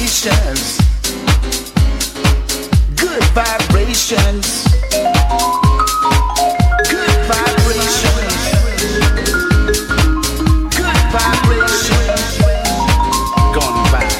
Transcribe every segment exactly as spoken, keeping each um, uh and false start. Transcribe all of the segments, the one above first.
vibrations, good vibrations, good vibrations, good vibrations, gonna vibe.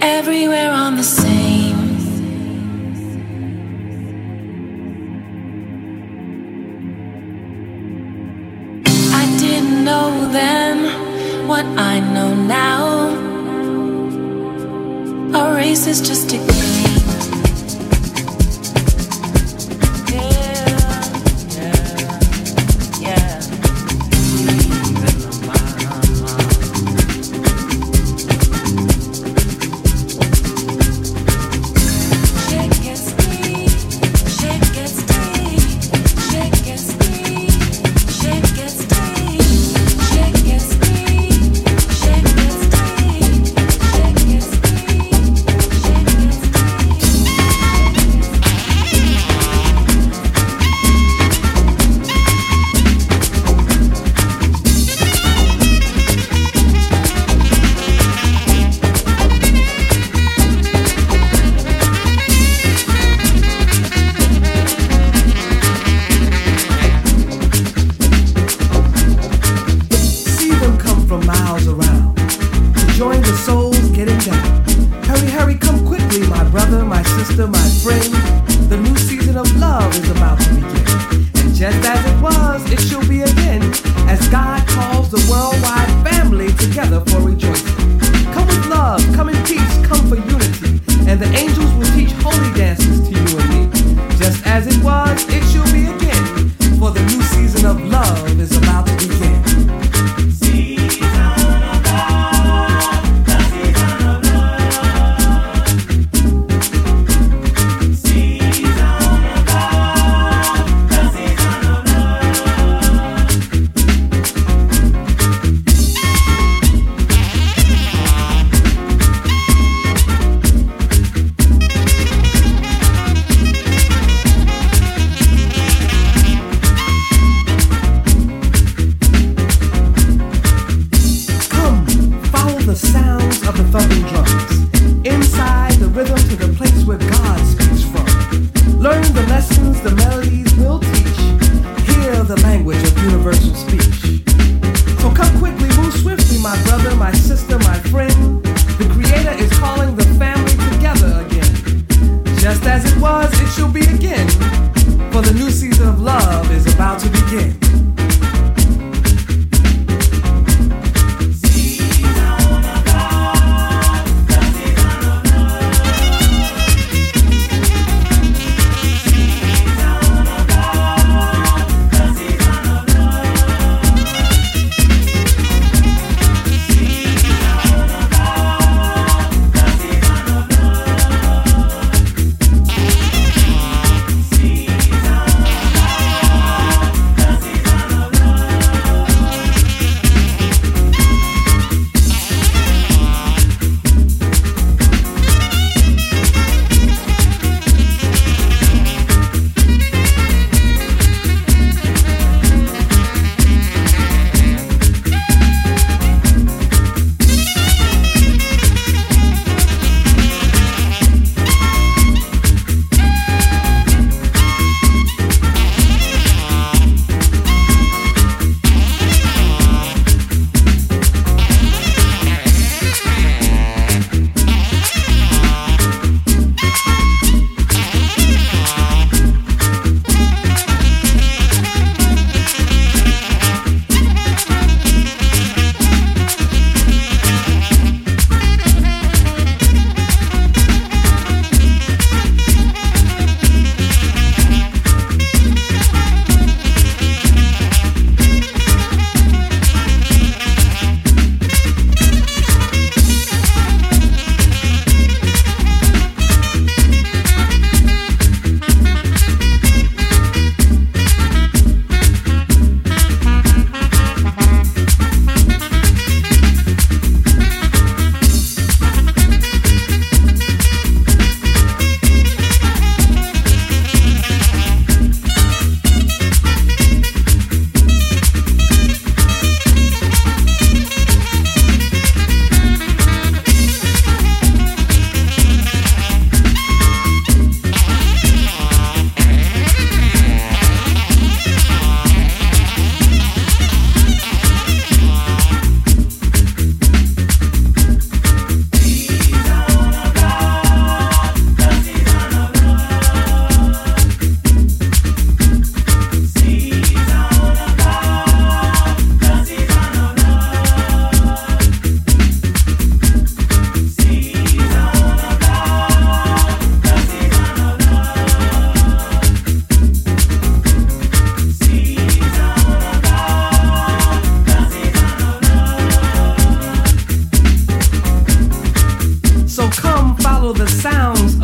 everywhere on the same. I didn't know then what I know now. A race is just a game.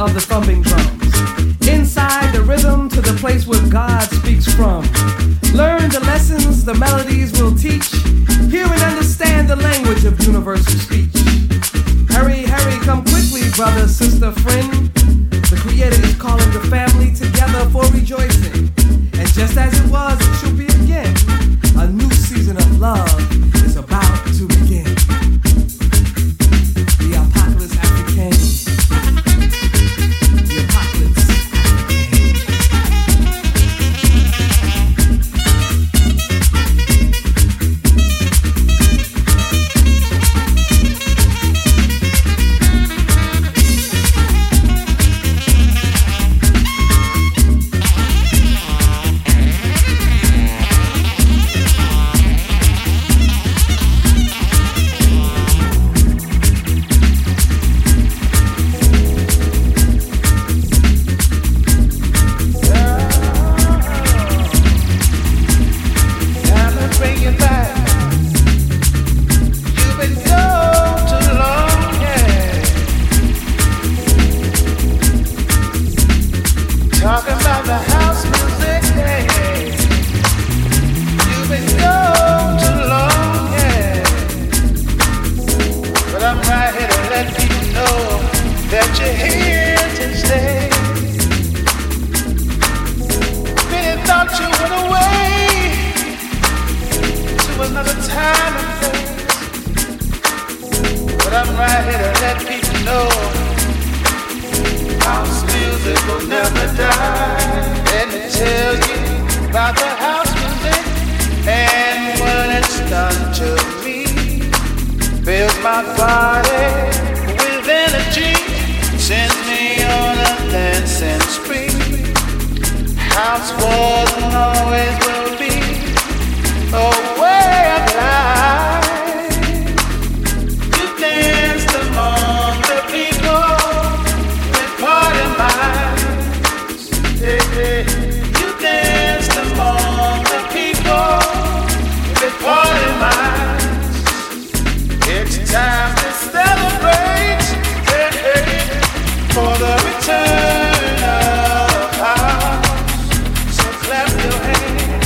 of the thumping drums. Inside the rhythm to the place where God speaks from. Learn the lessons the melodies will teach. Hear and understand the language of universal speech. Hurry, hurry, come quickly, brother, sister, friend. The Creator is calling the family together for rejoicing. And just as it was, it shall be again. A new season of love is about to begin. The Apocalypse African. The Apocalypse Return of house, so clap your hands.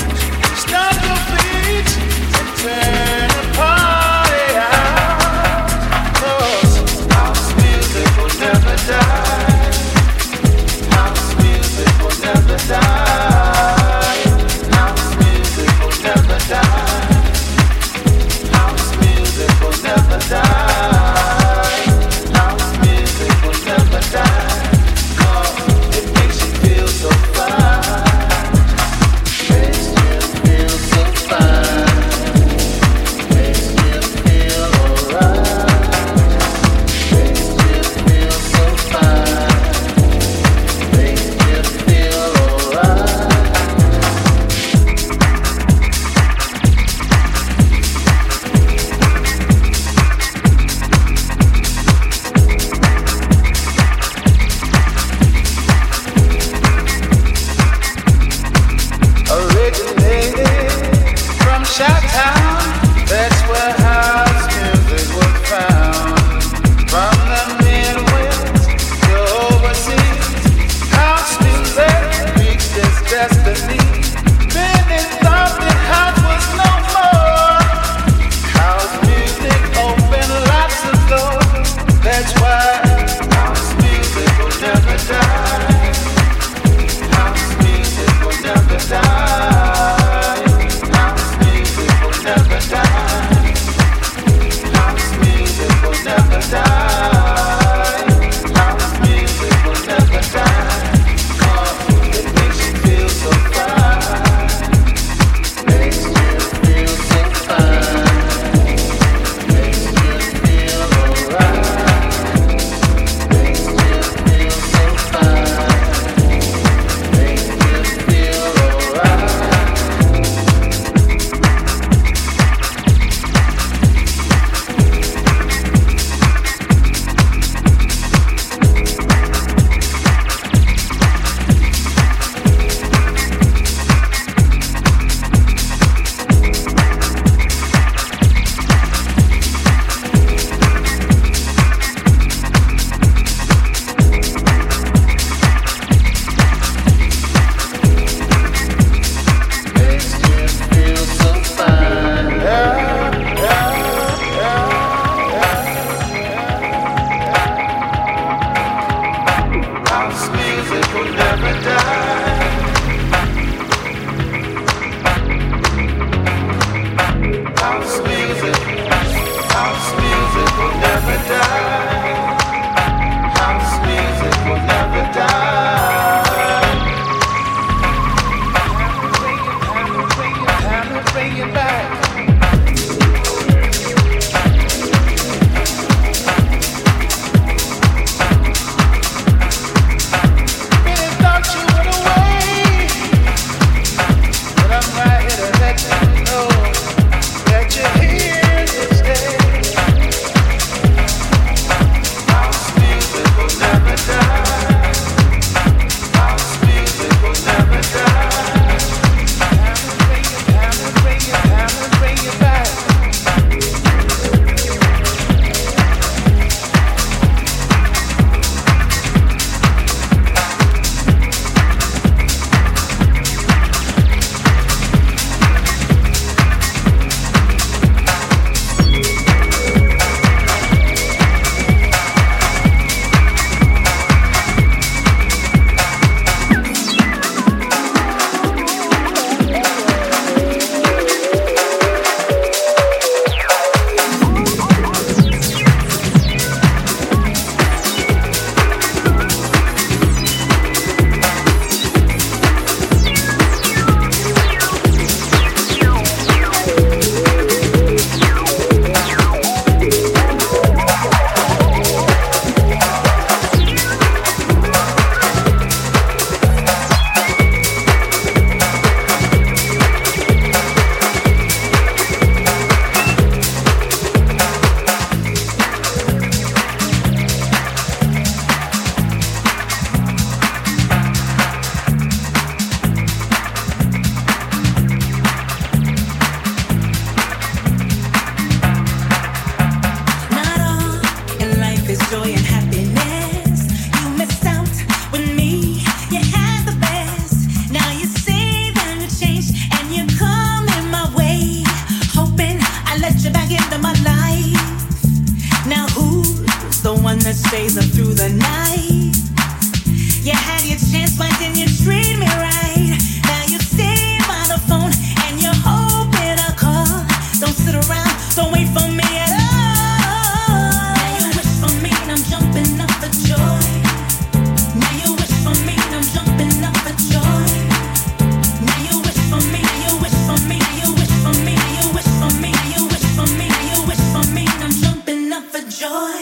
that stays up through the night. You had your chance, why didn't you treat me right? Now you stay by the phone and you're hoping I'll call. Don't sit around, don't wait for me at all. Now you wish for me and I'm jumping up for joy. Now you wish for me and I'm jumping up for joy. Now you wish for me, now you wish for me, now you wish for me, now you wish for me, now you wish for me, now you wish for me and I'm jumping up for joy.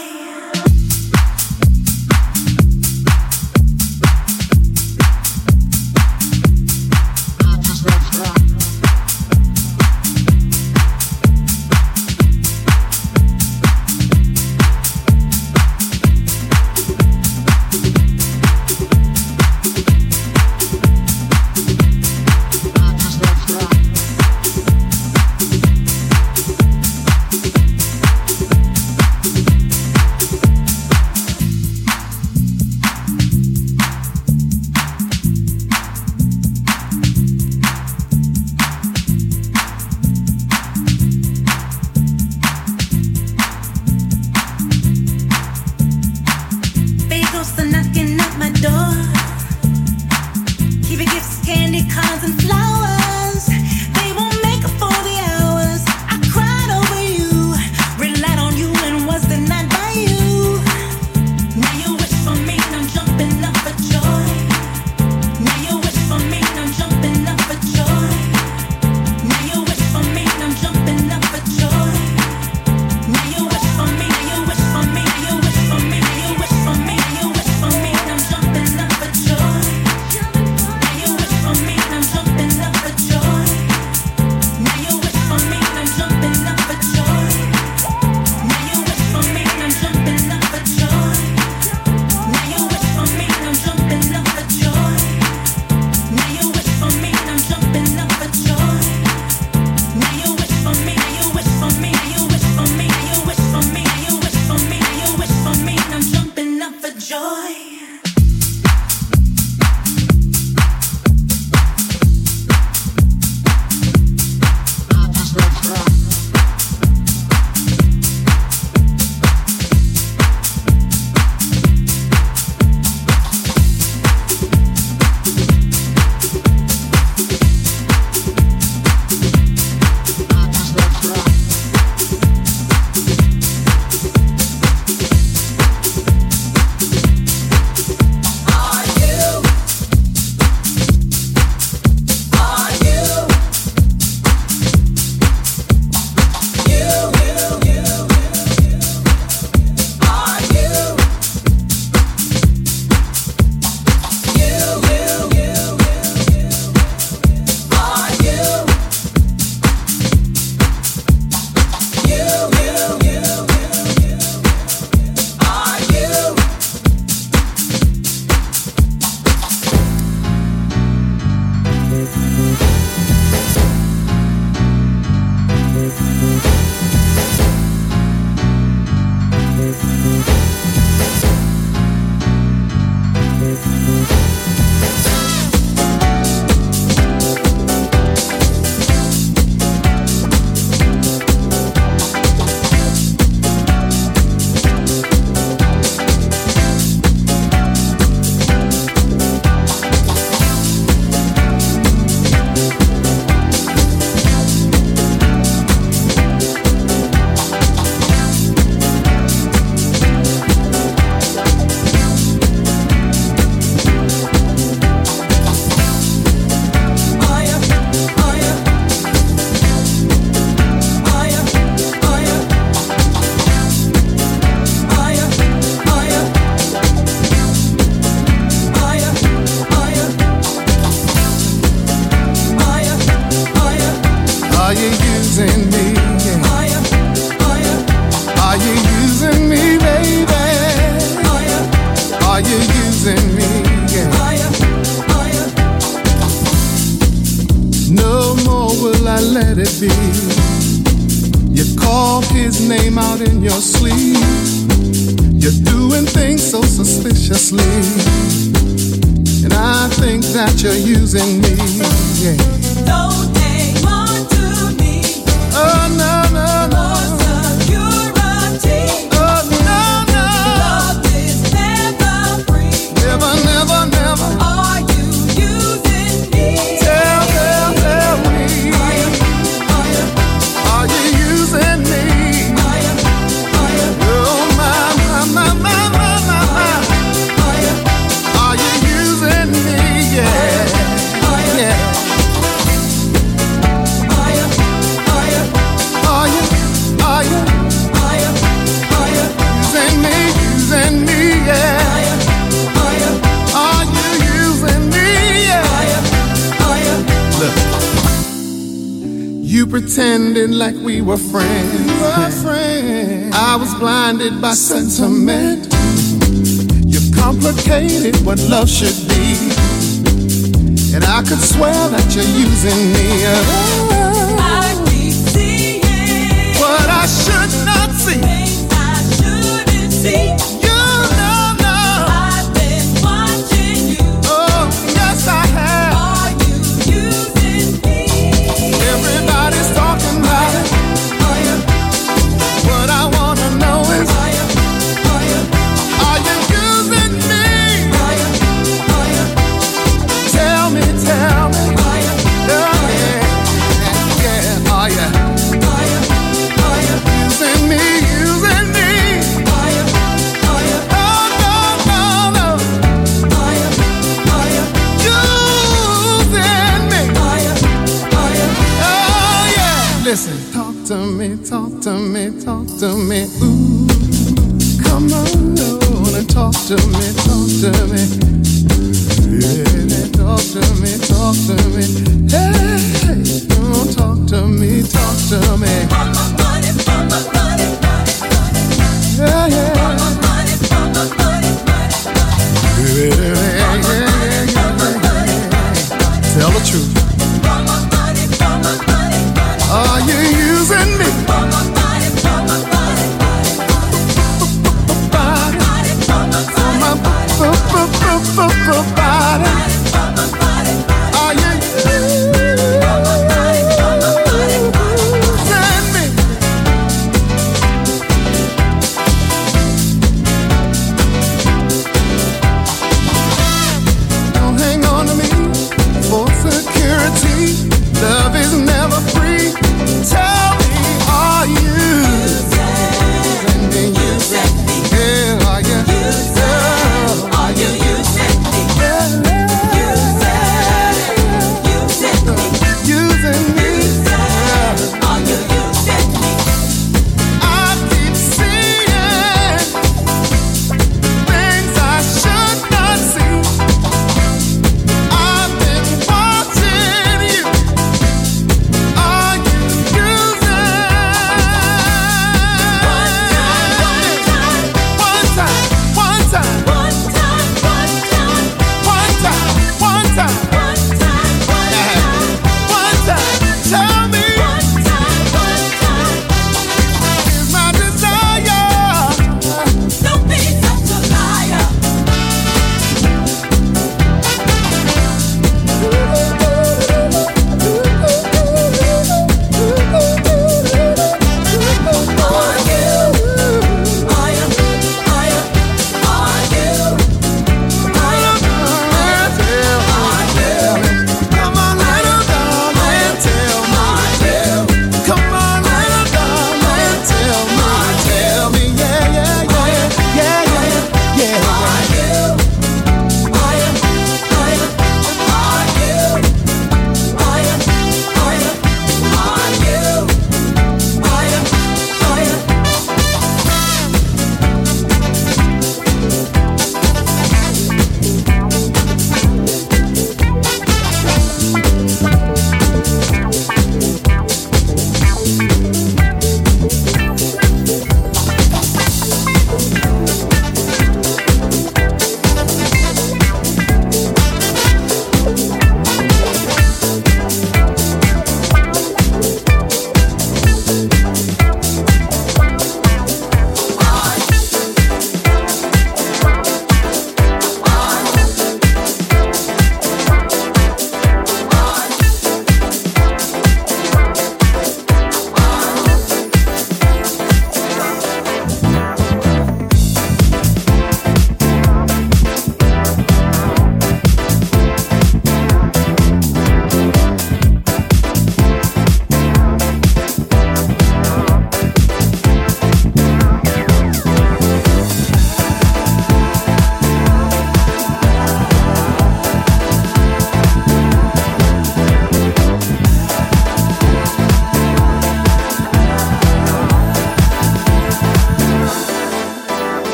Don't hang on to me. Oh no no no. For security. Oh no no. Love pretended like we were friends. Were friends. I was blinded by sentiment. You complicated what love should be, and I could swear that you're using me. Oh, I keep seeing what I should not see. things I shouldn't see. You know, no. I've been watching you. Oh, yes, I have. Are you using me? Everybody's talking about it. Are you? What I wanna know is, Are you? Are you? are you using me? Are you? Are you? Tell me, tell me. Are you? Oh, yeah, yeah, are you Are you? Are you? using me, using me? Are you? Are you? Oh, no, no, no. Are you? Are you? Using me. Are you? Are you? Oh, yeah. Listen, talk to me, talk to me, talk to me. Ooh, come on, and talk to me, talk to me. Yeah, talk to me, talk to me. Hey, oh, talk to me, talk to me. Money, from my money, money, money. Yeah, yeah. Money, from my money, money, money. Yeah, yeah, yeah, yeah, yeah. Tell the truth. From my money, from my money, money. Are you using me? From my money, from my money, money. Body, Money, from my for my money, b- b- b- b- b- body. money, from my money, money. Are you using me? Don't hang on to me for security. Love is never free. Tell me, are you using me? Using me? Yeah, are you? Are you using me? Yeah.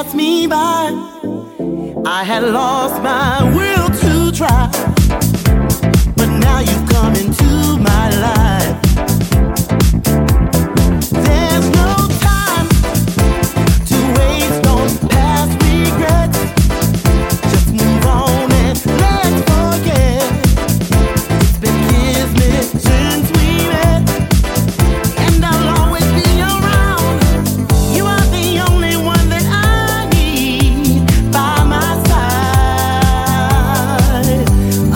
passed me by. I had lost my will to try, but now you've come into my life. There's no time to waste on past regrets. Just move on and let's forget. It's been years since we met, and I'll always be around. You are the only one that I need by my side.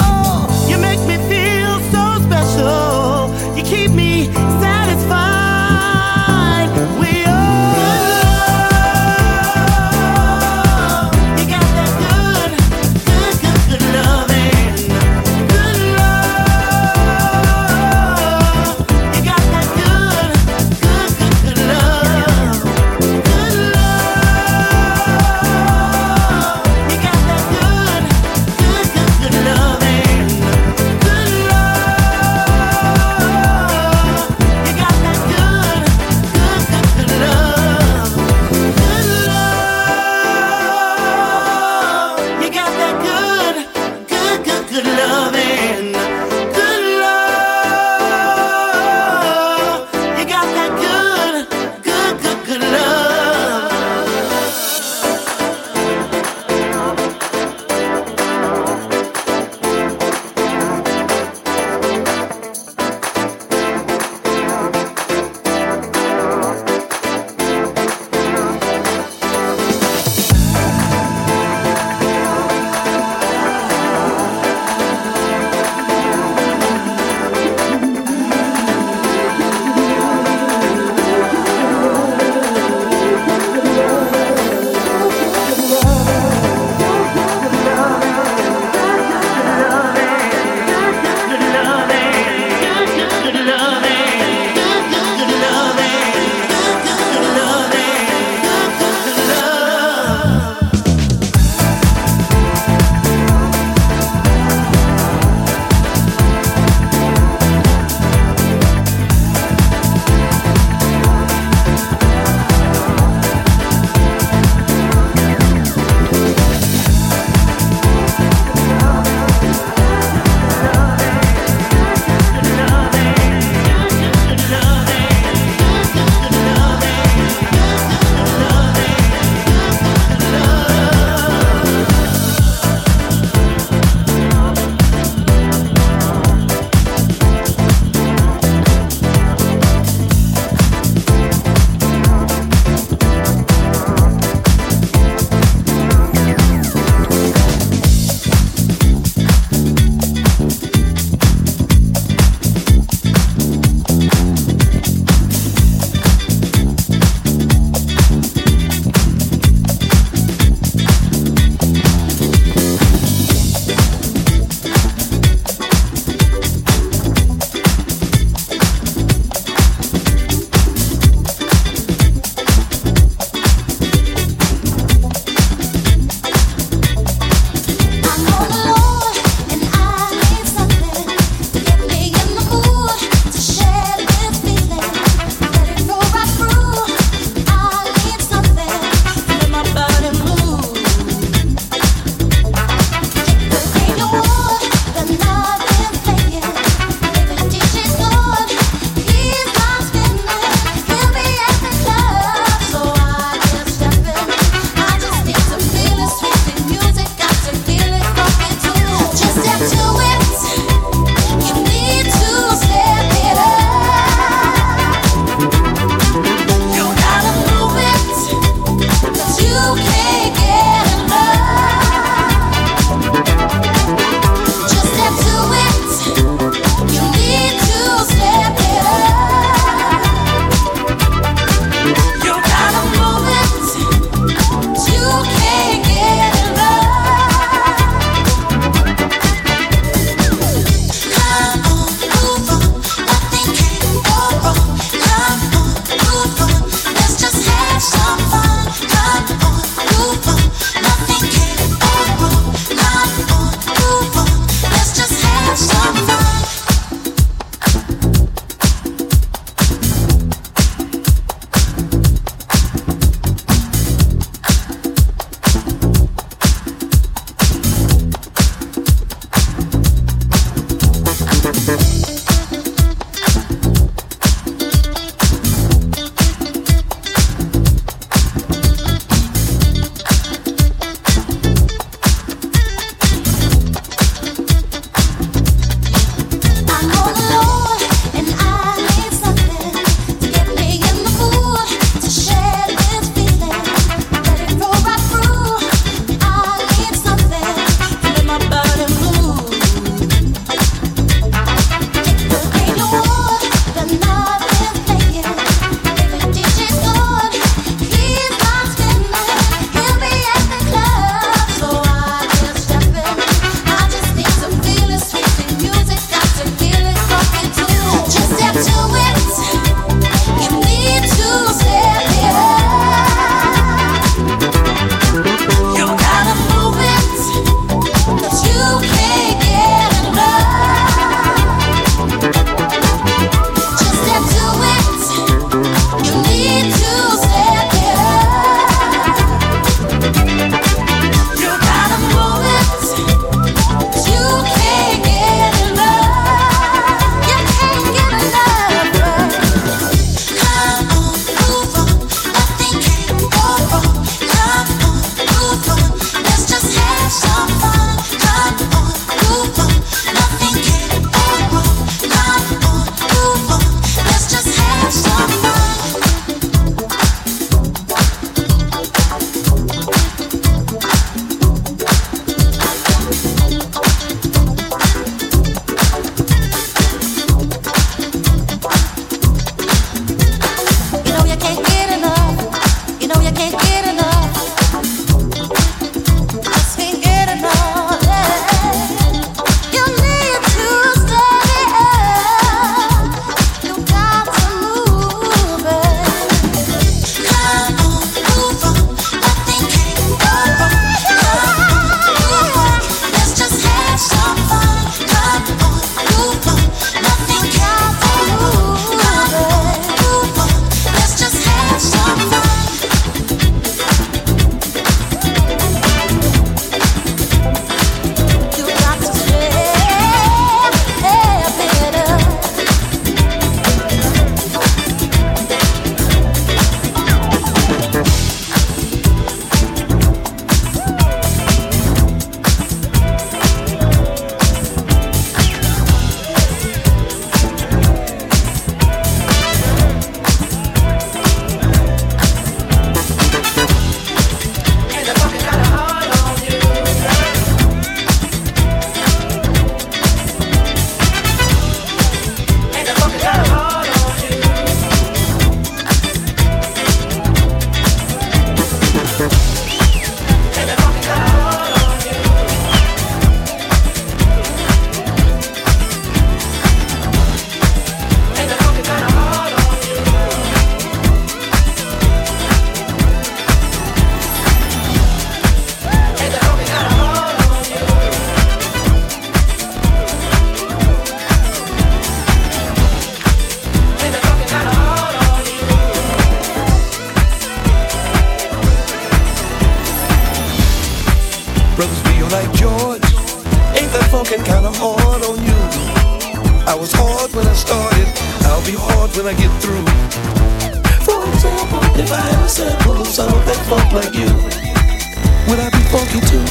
when I get through. For example, if I had a sample of some of that funk like you, would I be funky too?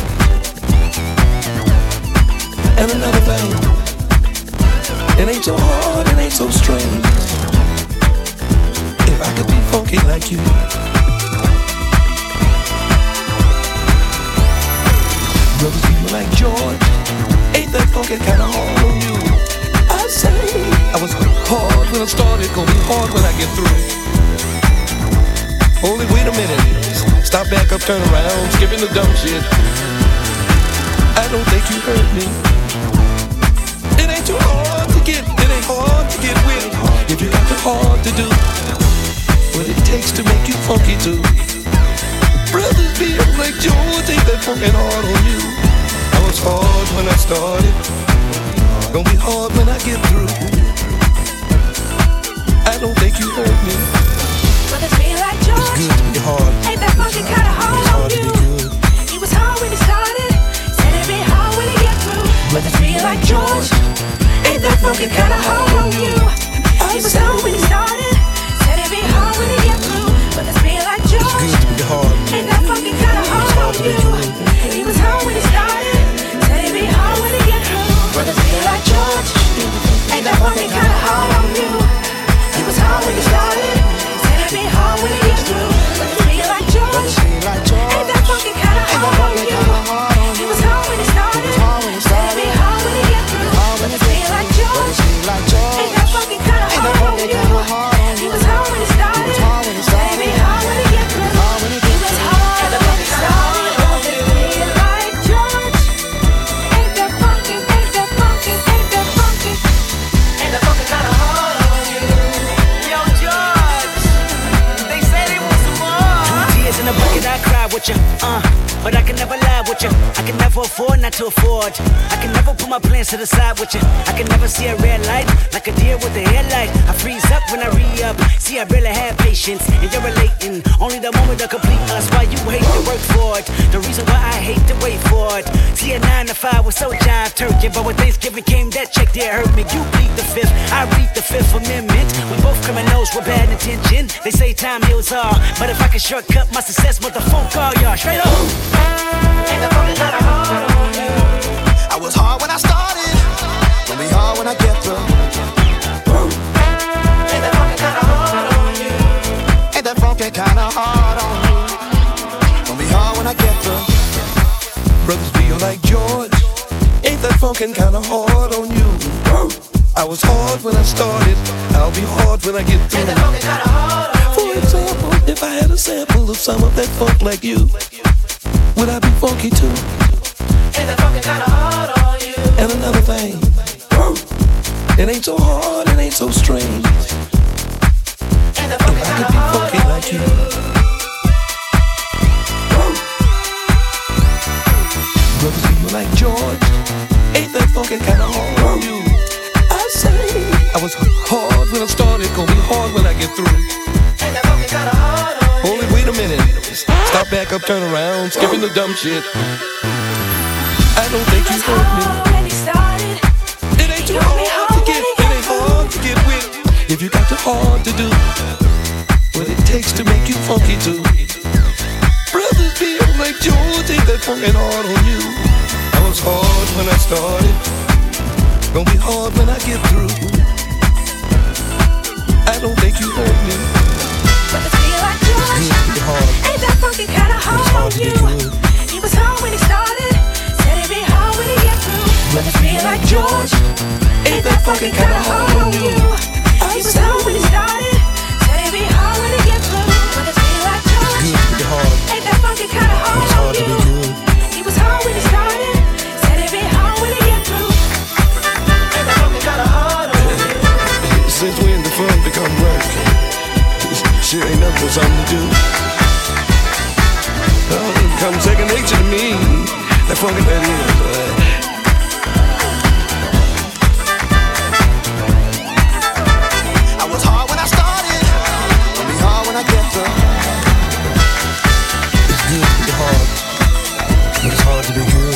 And another thing, it ain't so hard, it ain't so strange. If I could be funky like you. Brothers, people like George, ain't that funky kinda hard on you? I say, I was hard when I started, gonna be hard when I get through. Only wait a minute, stop back up, turn around, skipping the dumb shit. I don't think you heard me. It ain't too hard to get, it ain't hard to get with. If you got the hard to do what it takes to make you funky too. Brothers be like George, ain't that funkin' hard on you? I was hard when I started, gonna be hard when I get through. I don't think you heard me. Brothers be like George, it's good to be hard. Ain't that funkin' kinda hard on you? He was hard when he started, said it'd be hard when he get through. Brothers be like George, ain't that funkin' kinda hard on you? He was hard when he started, said it'd be hard when he get through. Brothers be like George, it's good to be hard. Ain't that funkin' kinda hard on you? He was hard when he started, said it'd be hard when he get through. Brothers be like George, ain't that funkin' kinda hard on you? He was hard when he started, said it'd be hard when he get through. Brothers be like George, ain't that funkin' kinda hard on you? He was hard when he started, said it'd be hard when he get through. Brothers be like George, ain't that funkin' kinda hard on you? He was hard when he started, said it'd be hard when he get through. He was hard when he started. Brothers be like George, ain't that funkin', ain't that funkin', ain't that funkin', ain't that funkin' kinda hard on you? Yo, George, they say they want some more. Two tears in a bucket, I cry with you, uh. But I can never lie with you. I can never afford not to afford. I can never put my plans to the side with you. I can never see a red light like a deer with a headlight. I freeze up when I re-up. See, I really have patience, and you're relating. Only the moment to complete us. Why you hate to work for it? The reason why I hate to wait for it. See, a nine to five was so jive turkey, but when Thanksgiving came, that check there hurt me. You plead the fifth, I read the Fifth Amendment. We both criminals with bad intention. They say time heals all, but if I can shortcut my success, motherfucker, call y'all straight up. Ain't that funkin' kinda hard on you? I was hard when I started, gonna be hard when I get through. Ain't that funkin' kinda hard on you? Ain't that funky kinda hard on you? Gonna be hard when I get through. Brothers be like George, ain't that funkin' kinda hard on you? I was hard when I started, I'll be hard when I get through. Ain't that funkin' kinda hard on you? For example, if I had a sample of some of that funk like you, would I be funky too? Ain't that funkin' kinda hard on you? And another thing, it ain't so hard, it ain't so strange. Ain't that If funkin' I could kinda be hard funky on like you? you. Brothers, people like George, ain't that funky kinda hard on you? I say, I was hard when I started, gonna be hard when I get through. Ain't that funkin' kinda hard on you? Only wait a minute, stop back up, turn around, skipping the dumb shit. I don't think you heard me. When he started, It ain't too hard to get, it ain't hard to get with. If you got the hard to do what it takes to make you funky too. Brothers be like George, ain't that funkin' hard on you? I was hard when I started, gonna be hard when I get through. I don't think you heard me. brothers be like George, It's good to be hard. ain't that funkin' kinda hard hard on to be you? good. He was hard when he started, said it'd be hard when he get through. Brothers be like George, ain't that funkin' kinda hard on you? He was hard when he started, said it'd be hard when he get through. Brothers be like George, Good to be hard. ain't that funkin' kinda hard It's hard on to be you? good. He was hard when he started, said it'd be hard when he get through. Ain't that funkin' kinda hard on you? Since when the fun become work? Shit ain't nothing but something to do. Oh, it become second nature to me. That funky that is. I was hard when I started, gonna be hard when I get through. It's good to be hard, but it's hard to be good.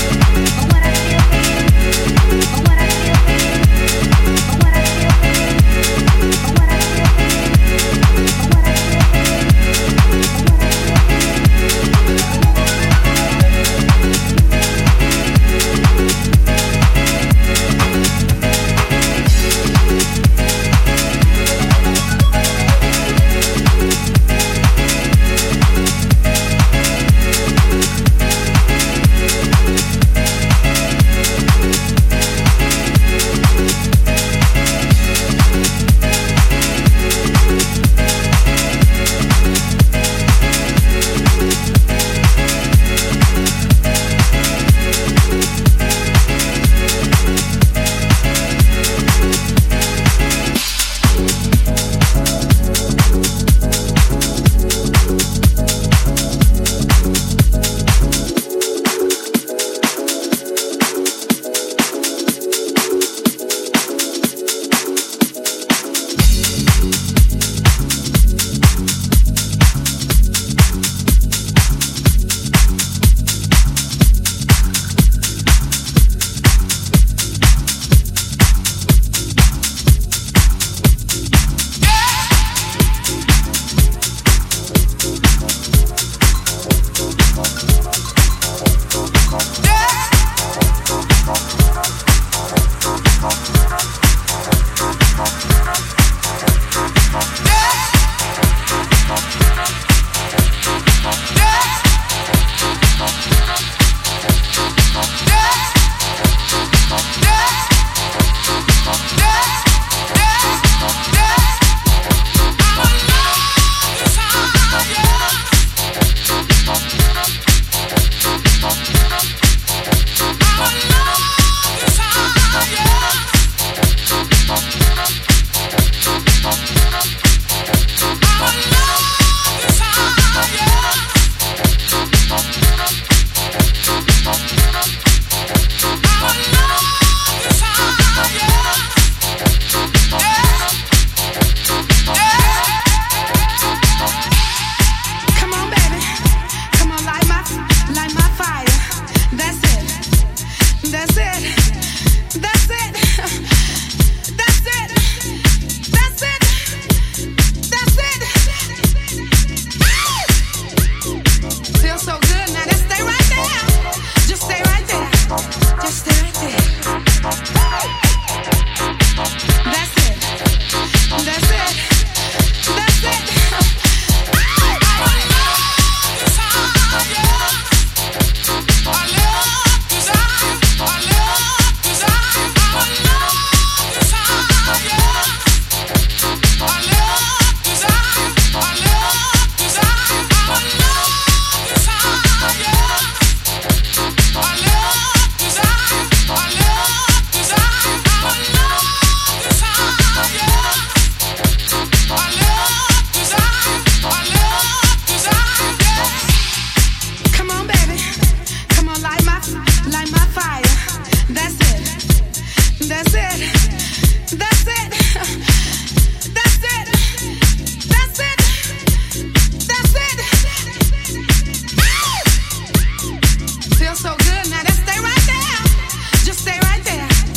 Feels so good. Now just stay right there. Just stay right there.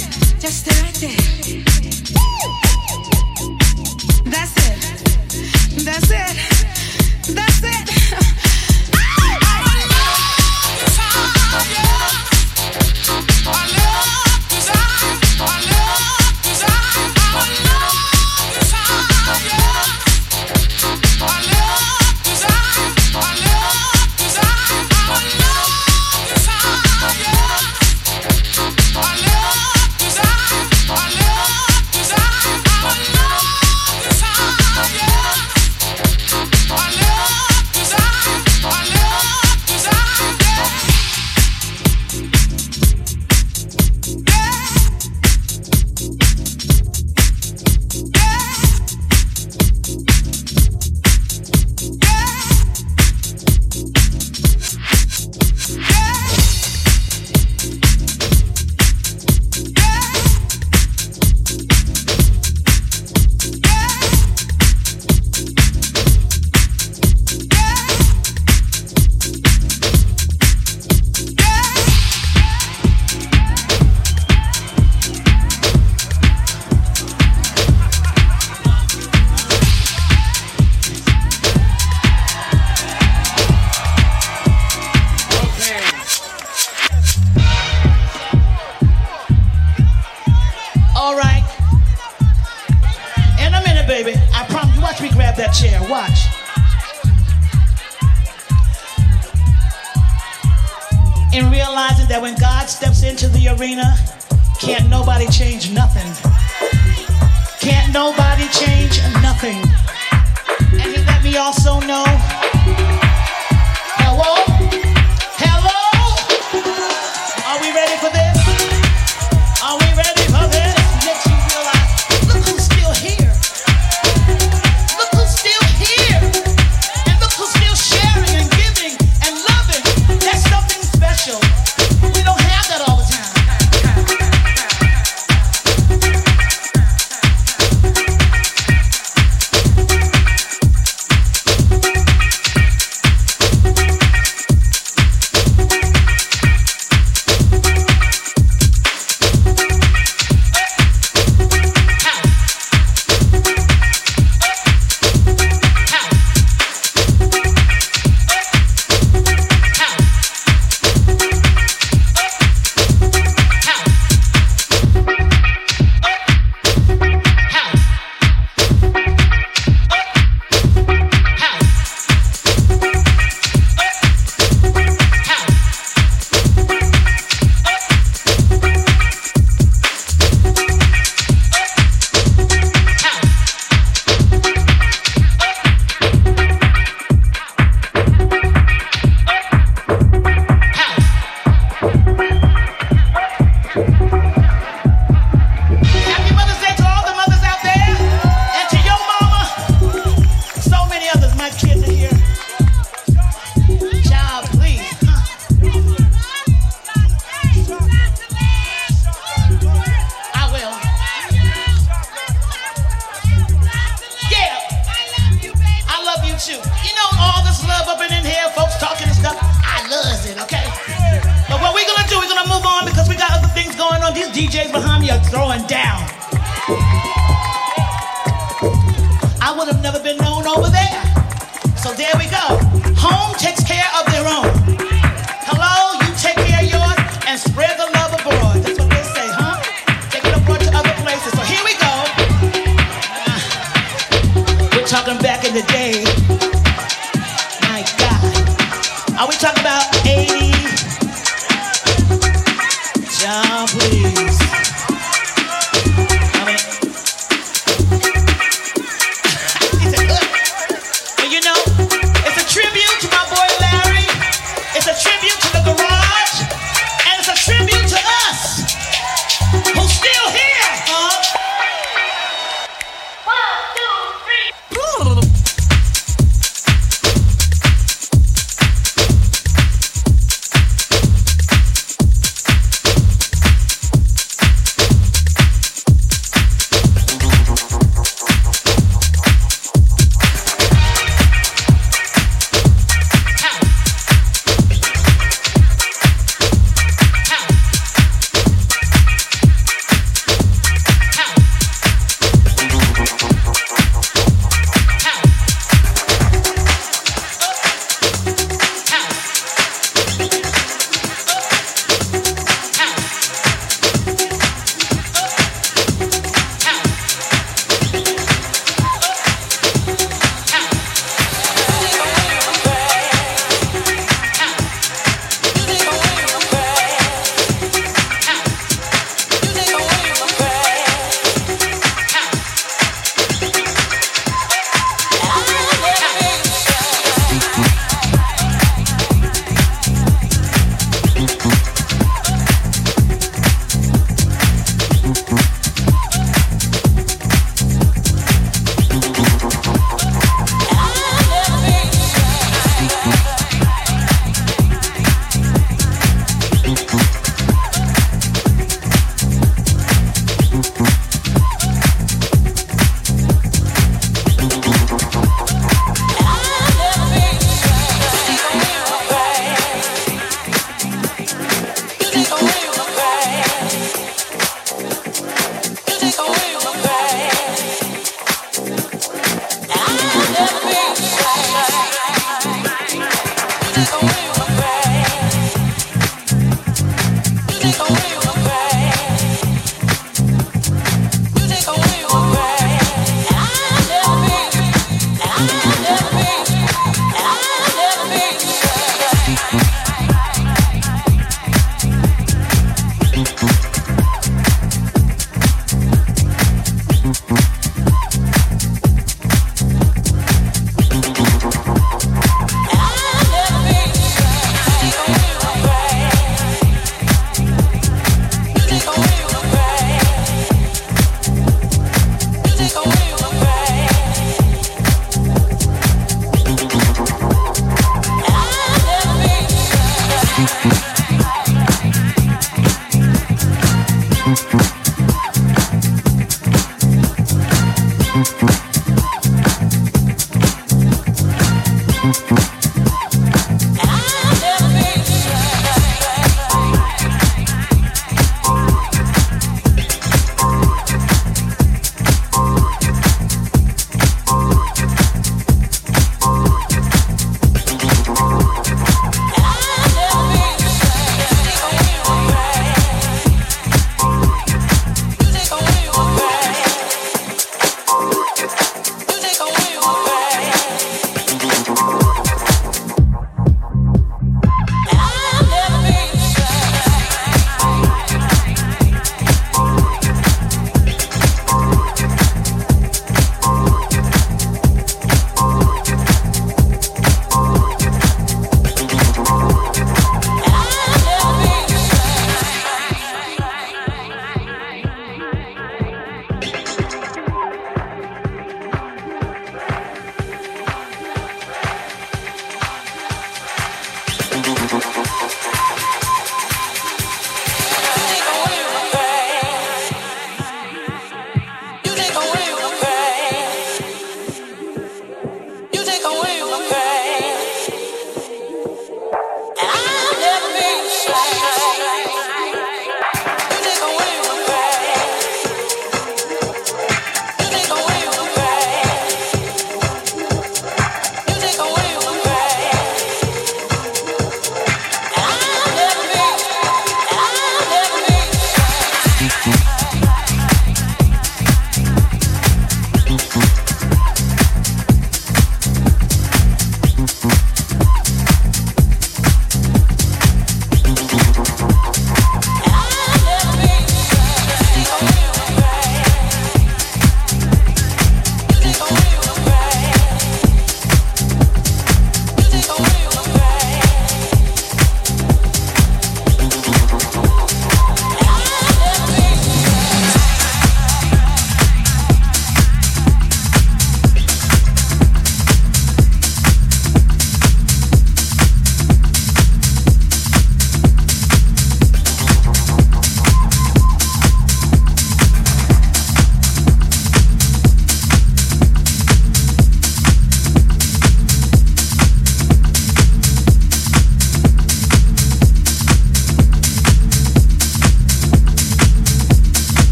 Just stay right there. That's it. That's it. That's it. Can't nobody change nothing. Can't nobody change nothing. And he let me also know. Hello? Hello? Are we ready for this? Are we ready for this? Makes you realize, look who's still here. Look who's still here. And look who's still sharing and giving and loving. That's something special. We don't have that all the time.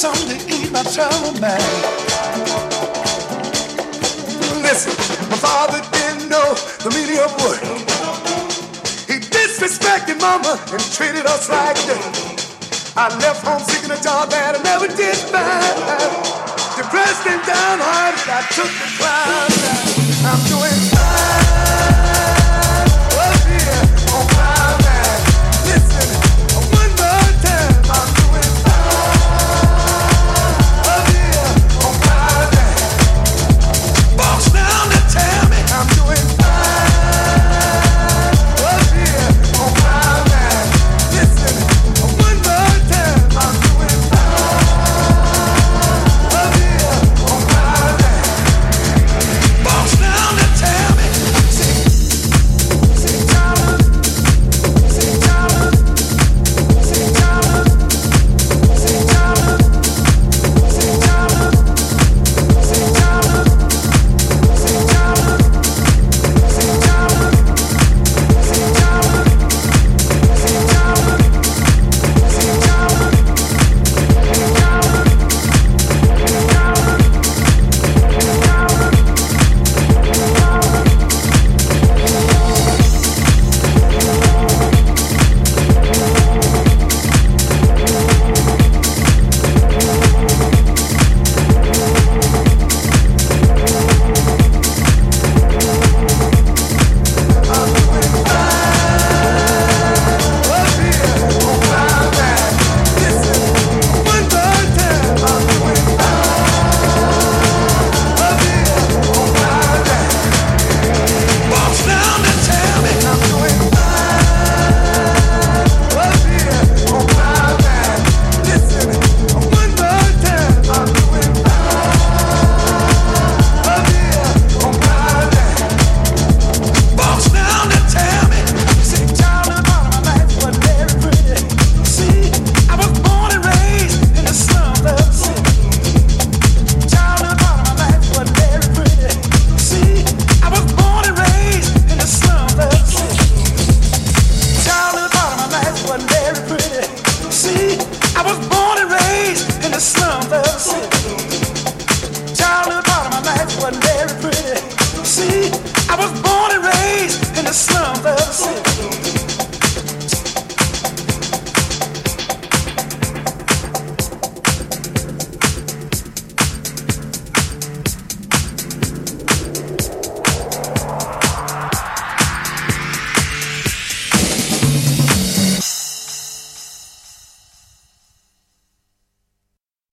something to eat my trouble man. Listen, my father didn't know the meaning of work. He disrespected mama and treated us like dirt. I left home seeking a job that I never did find. Depressed and downhearted, I took the climb. I'm doing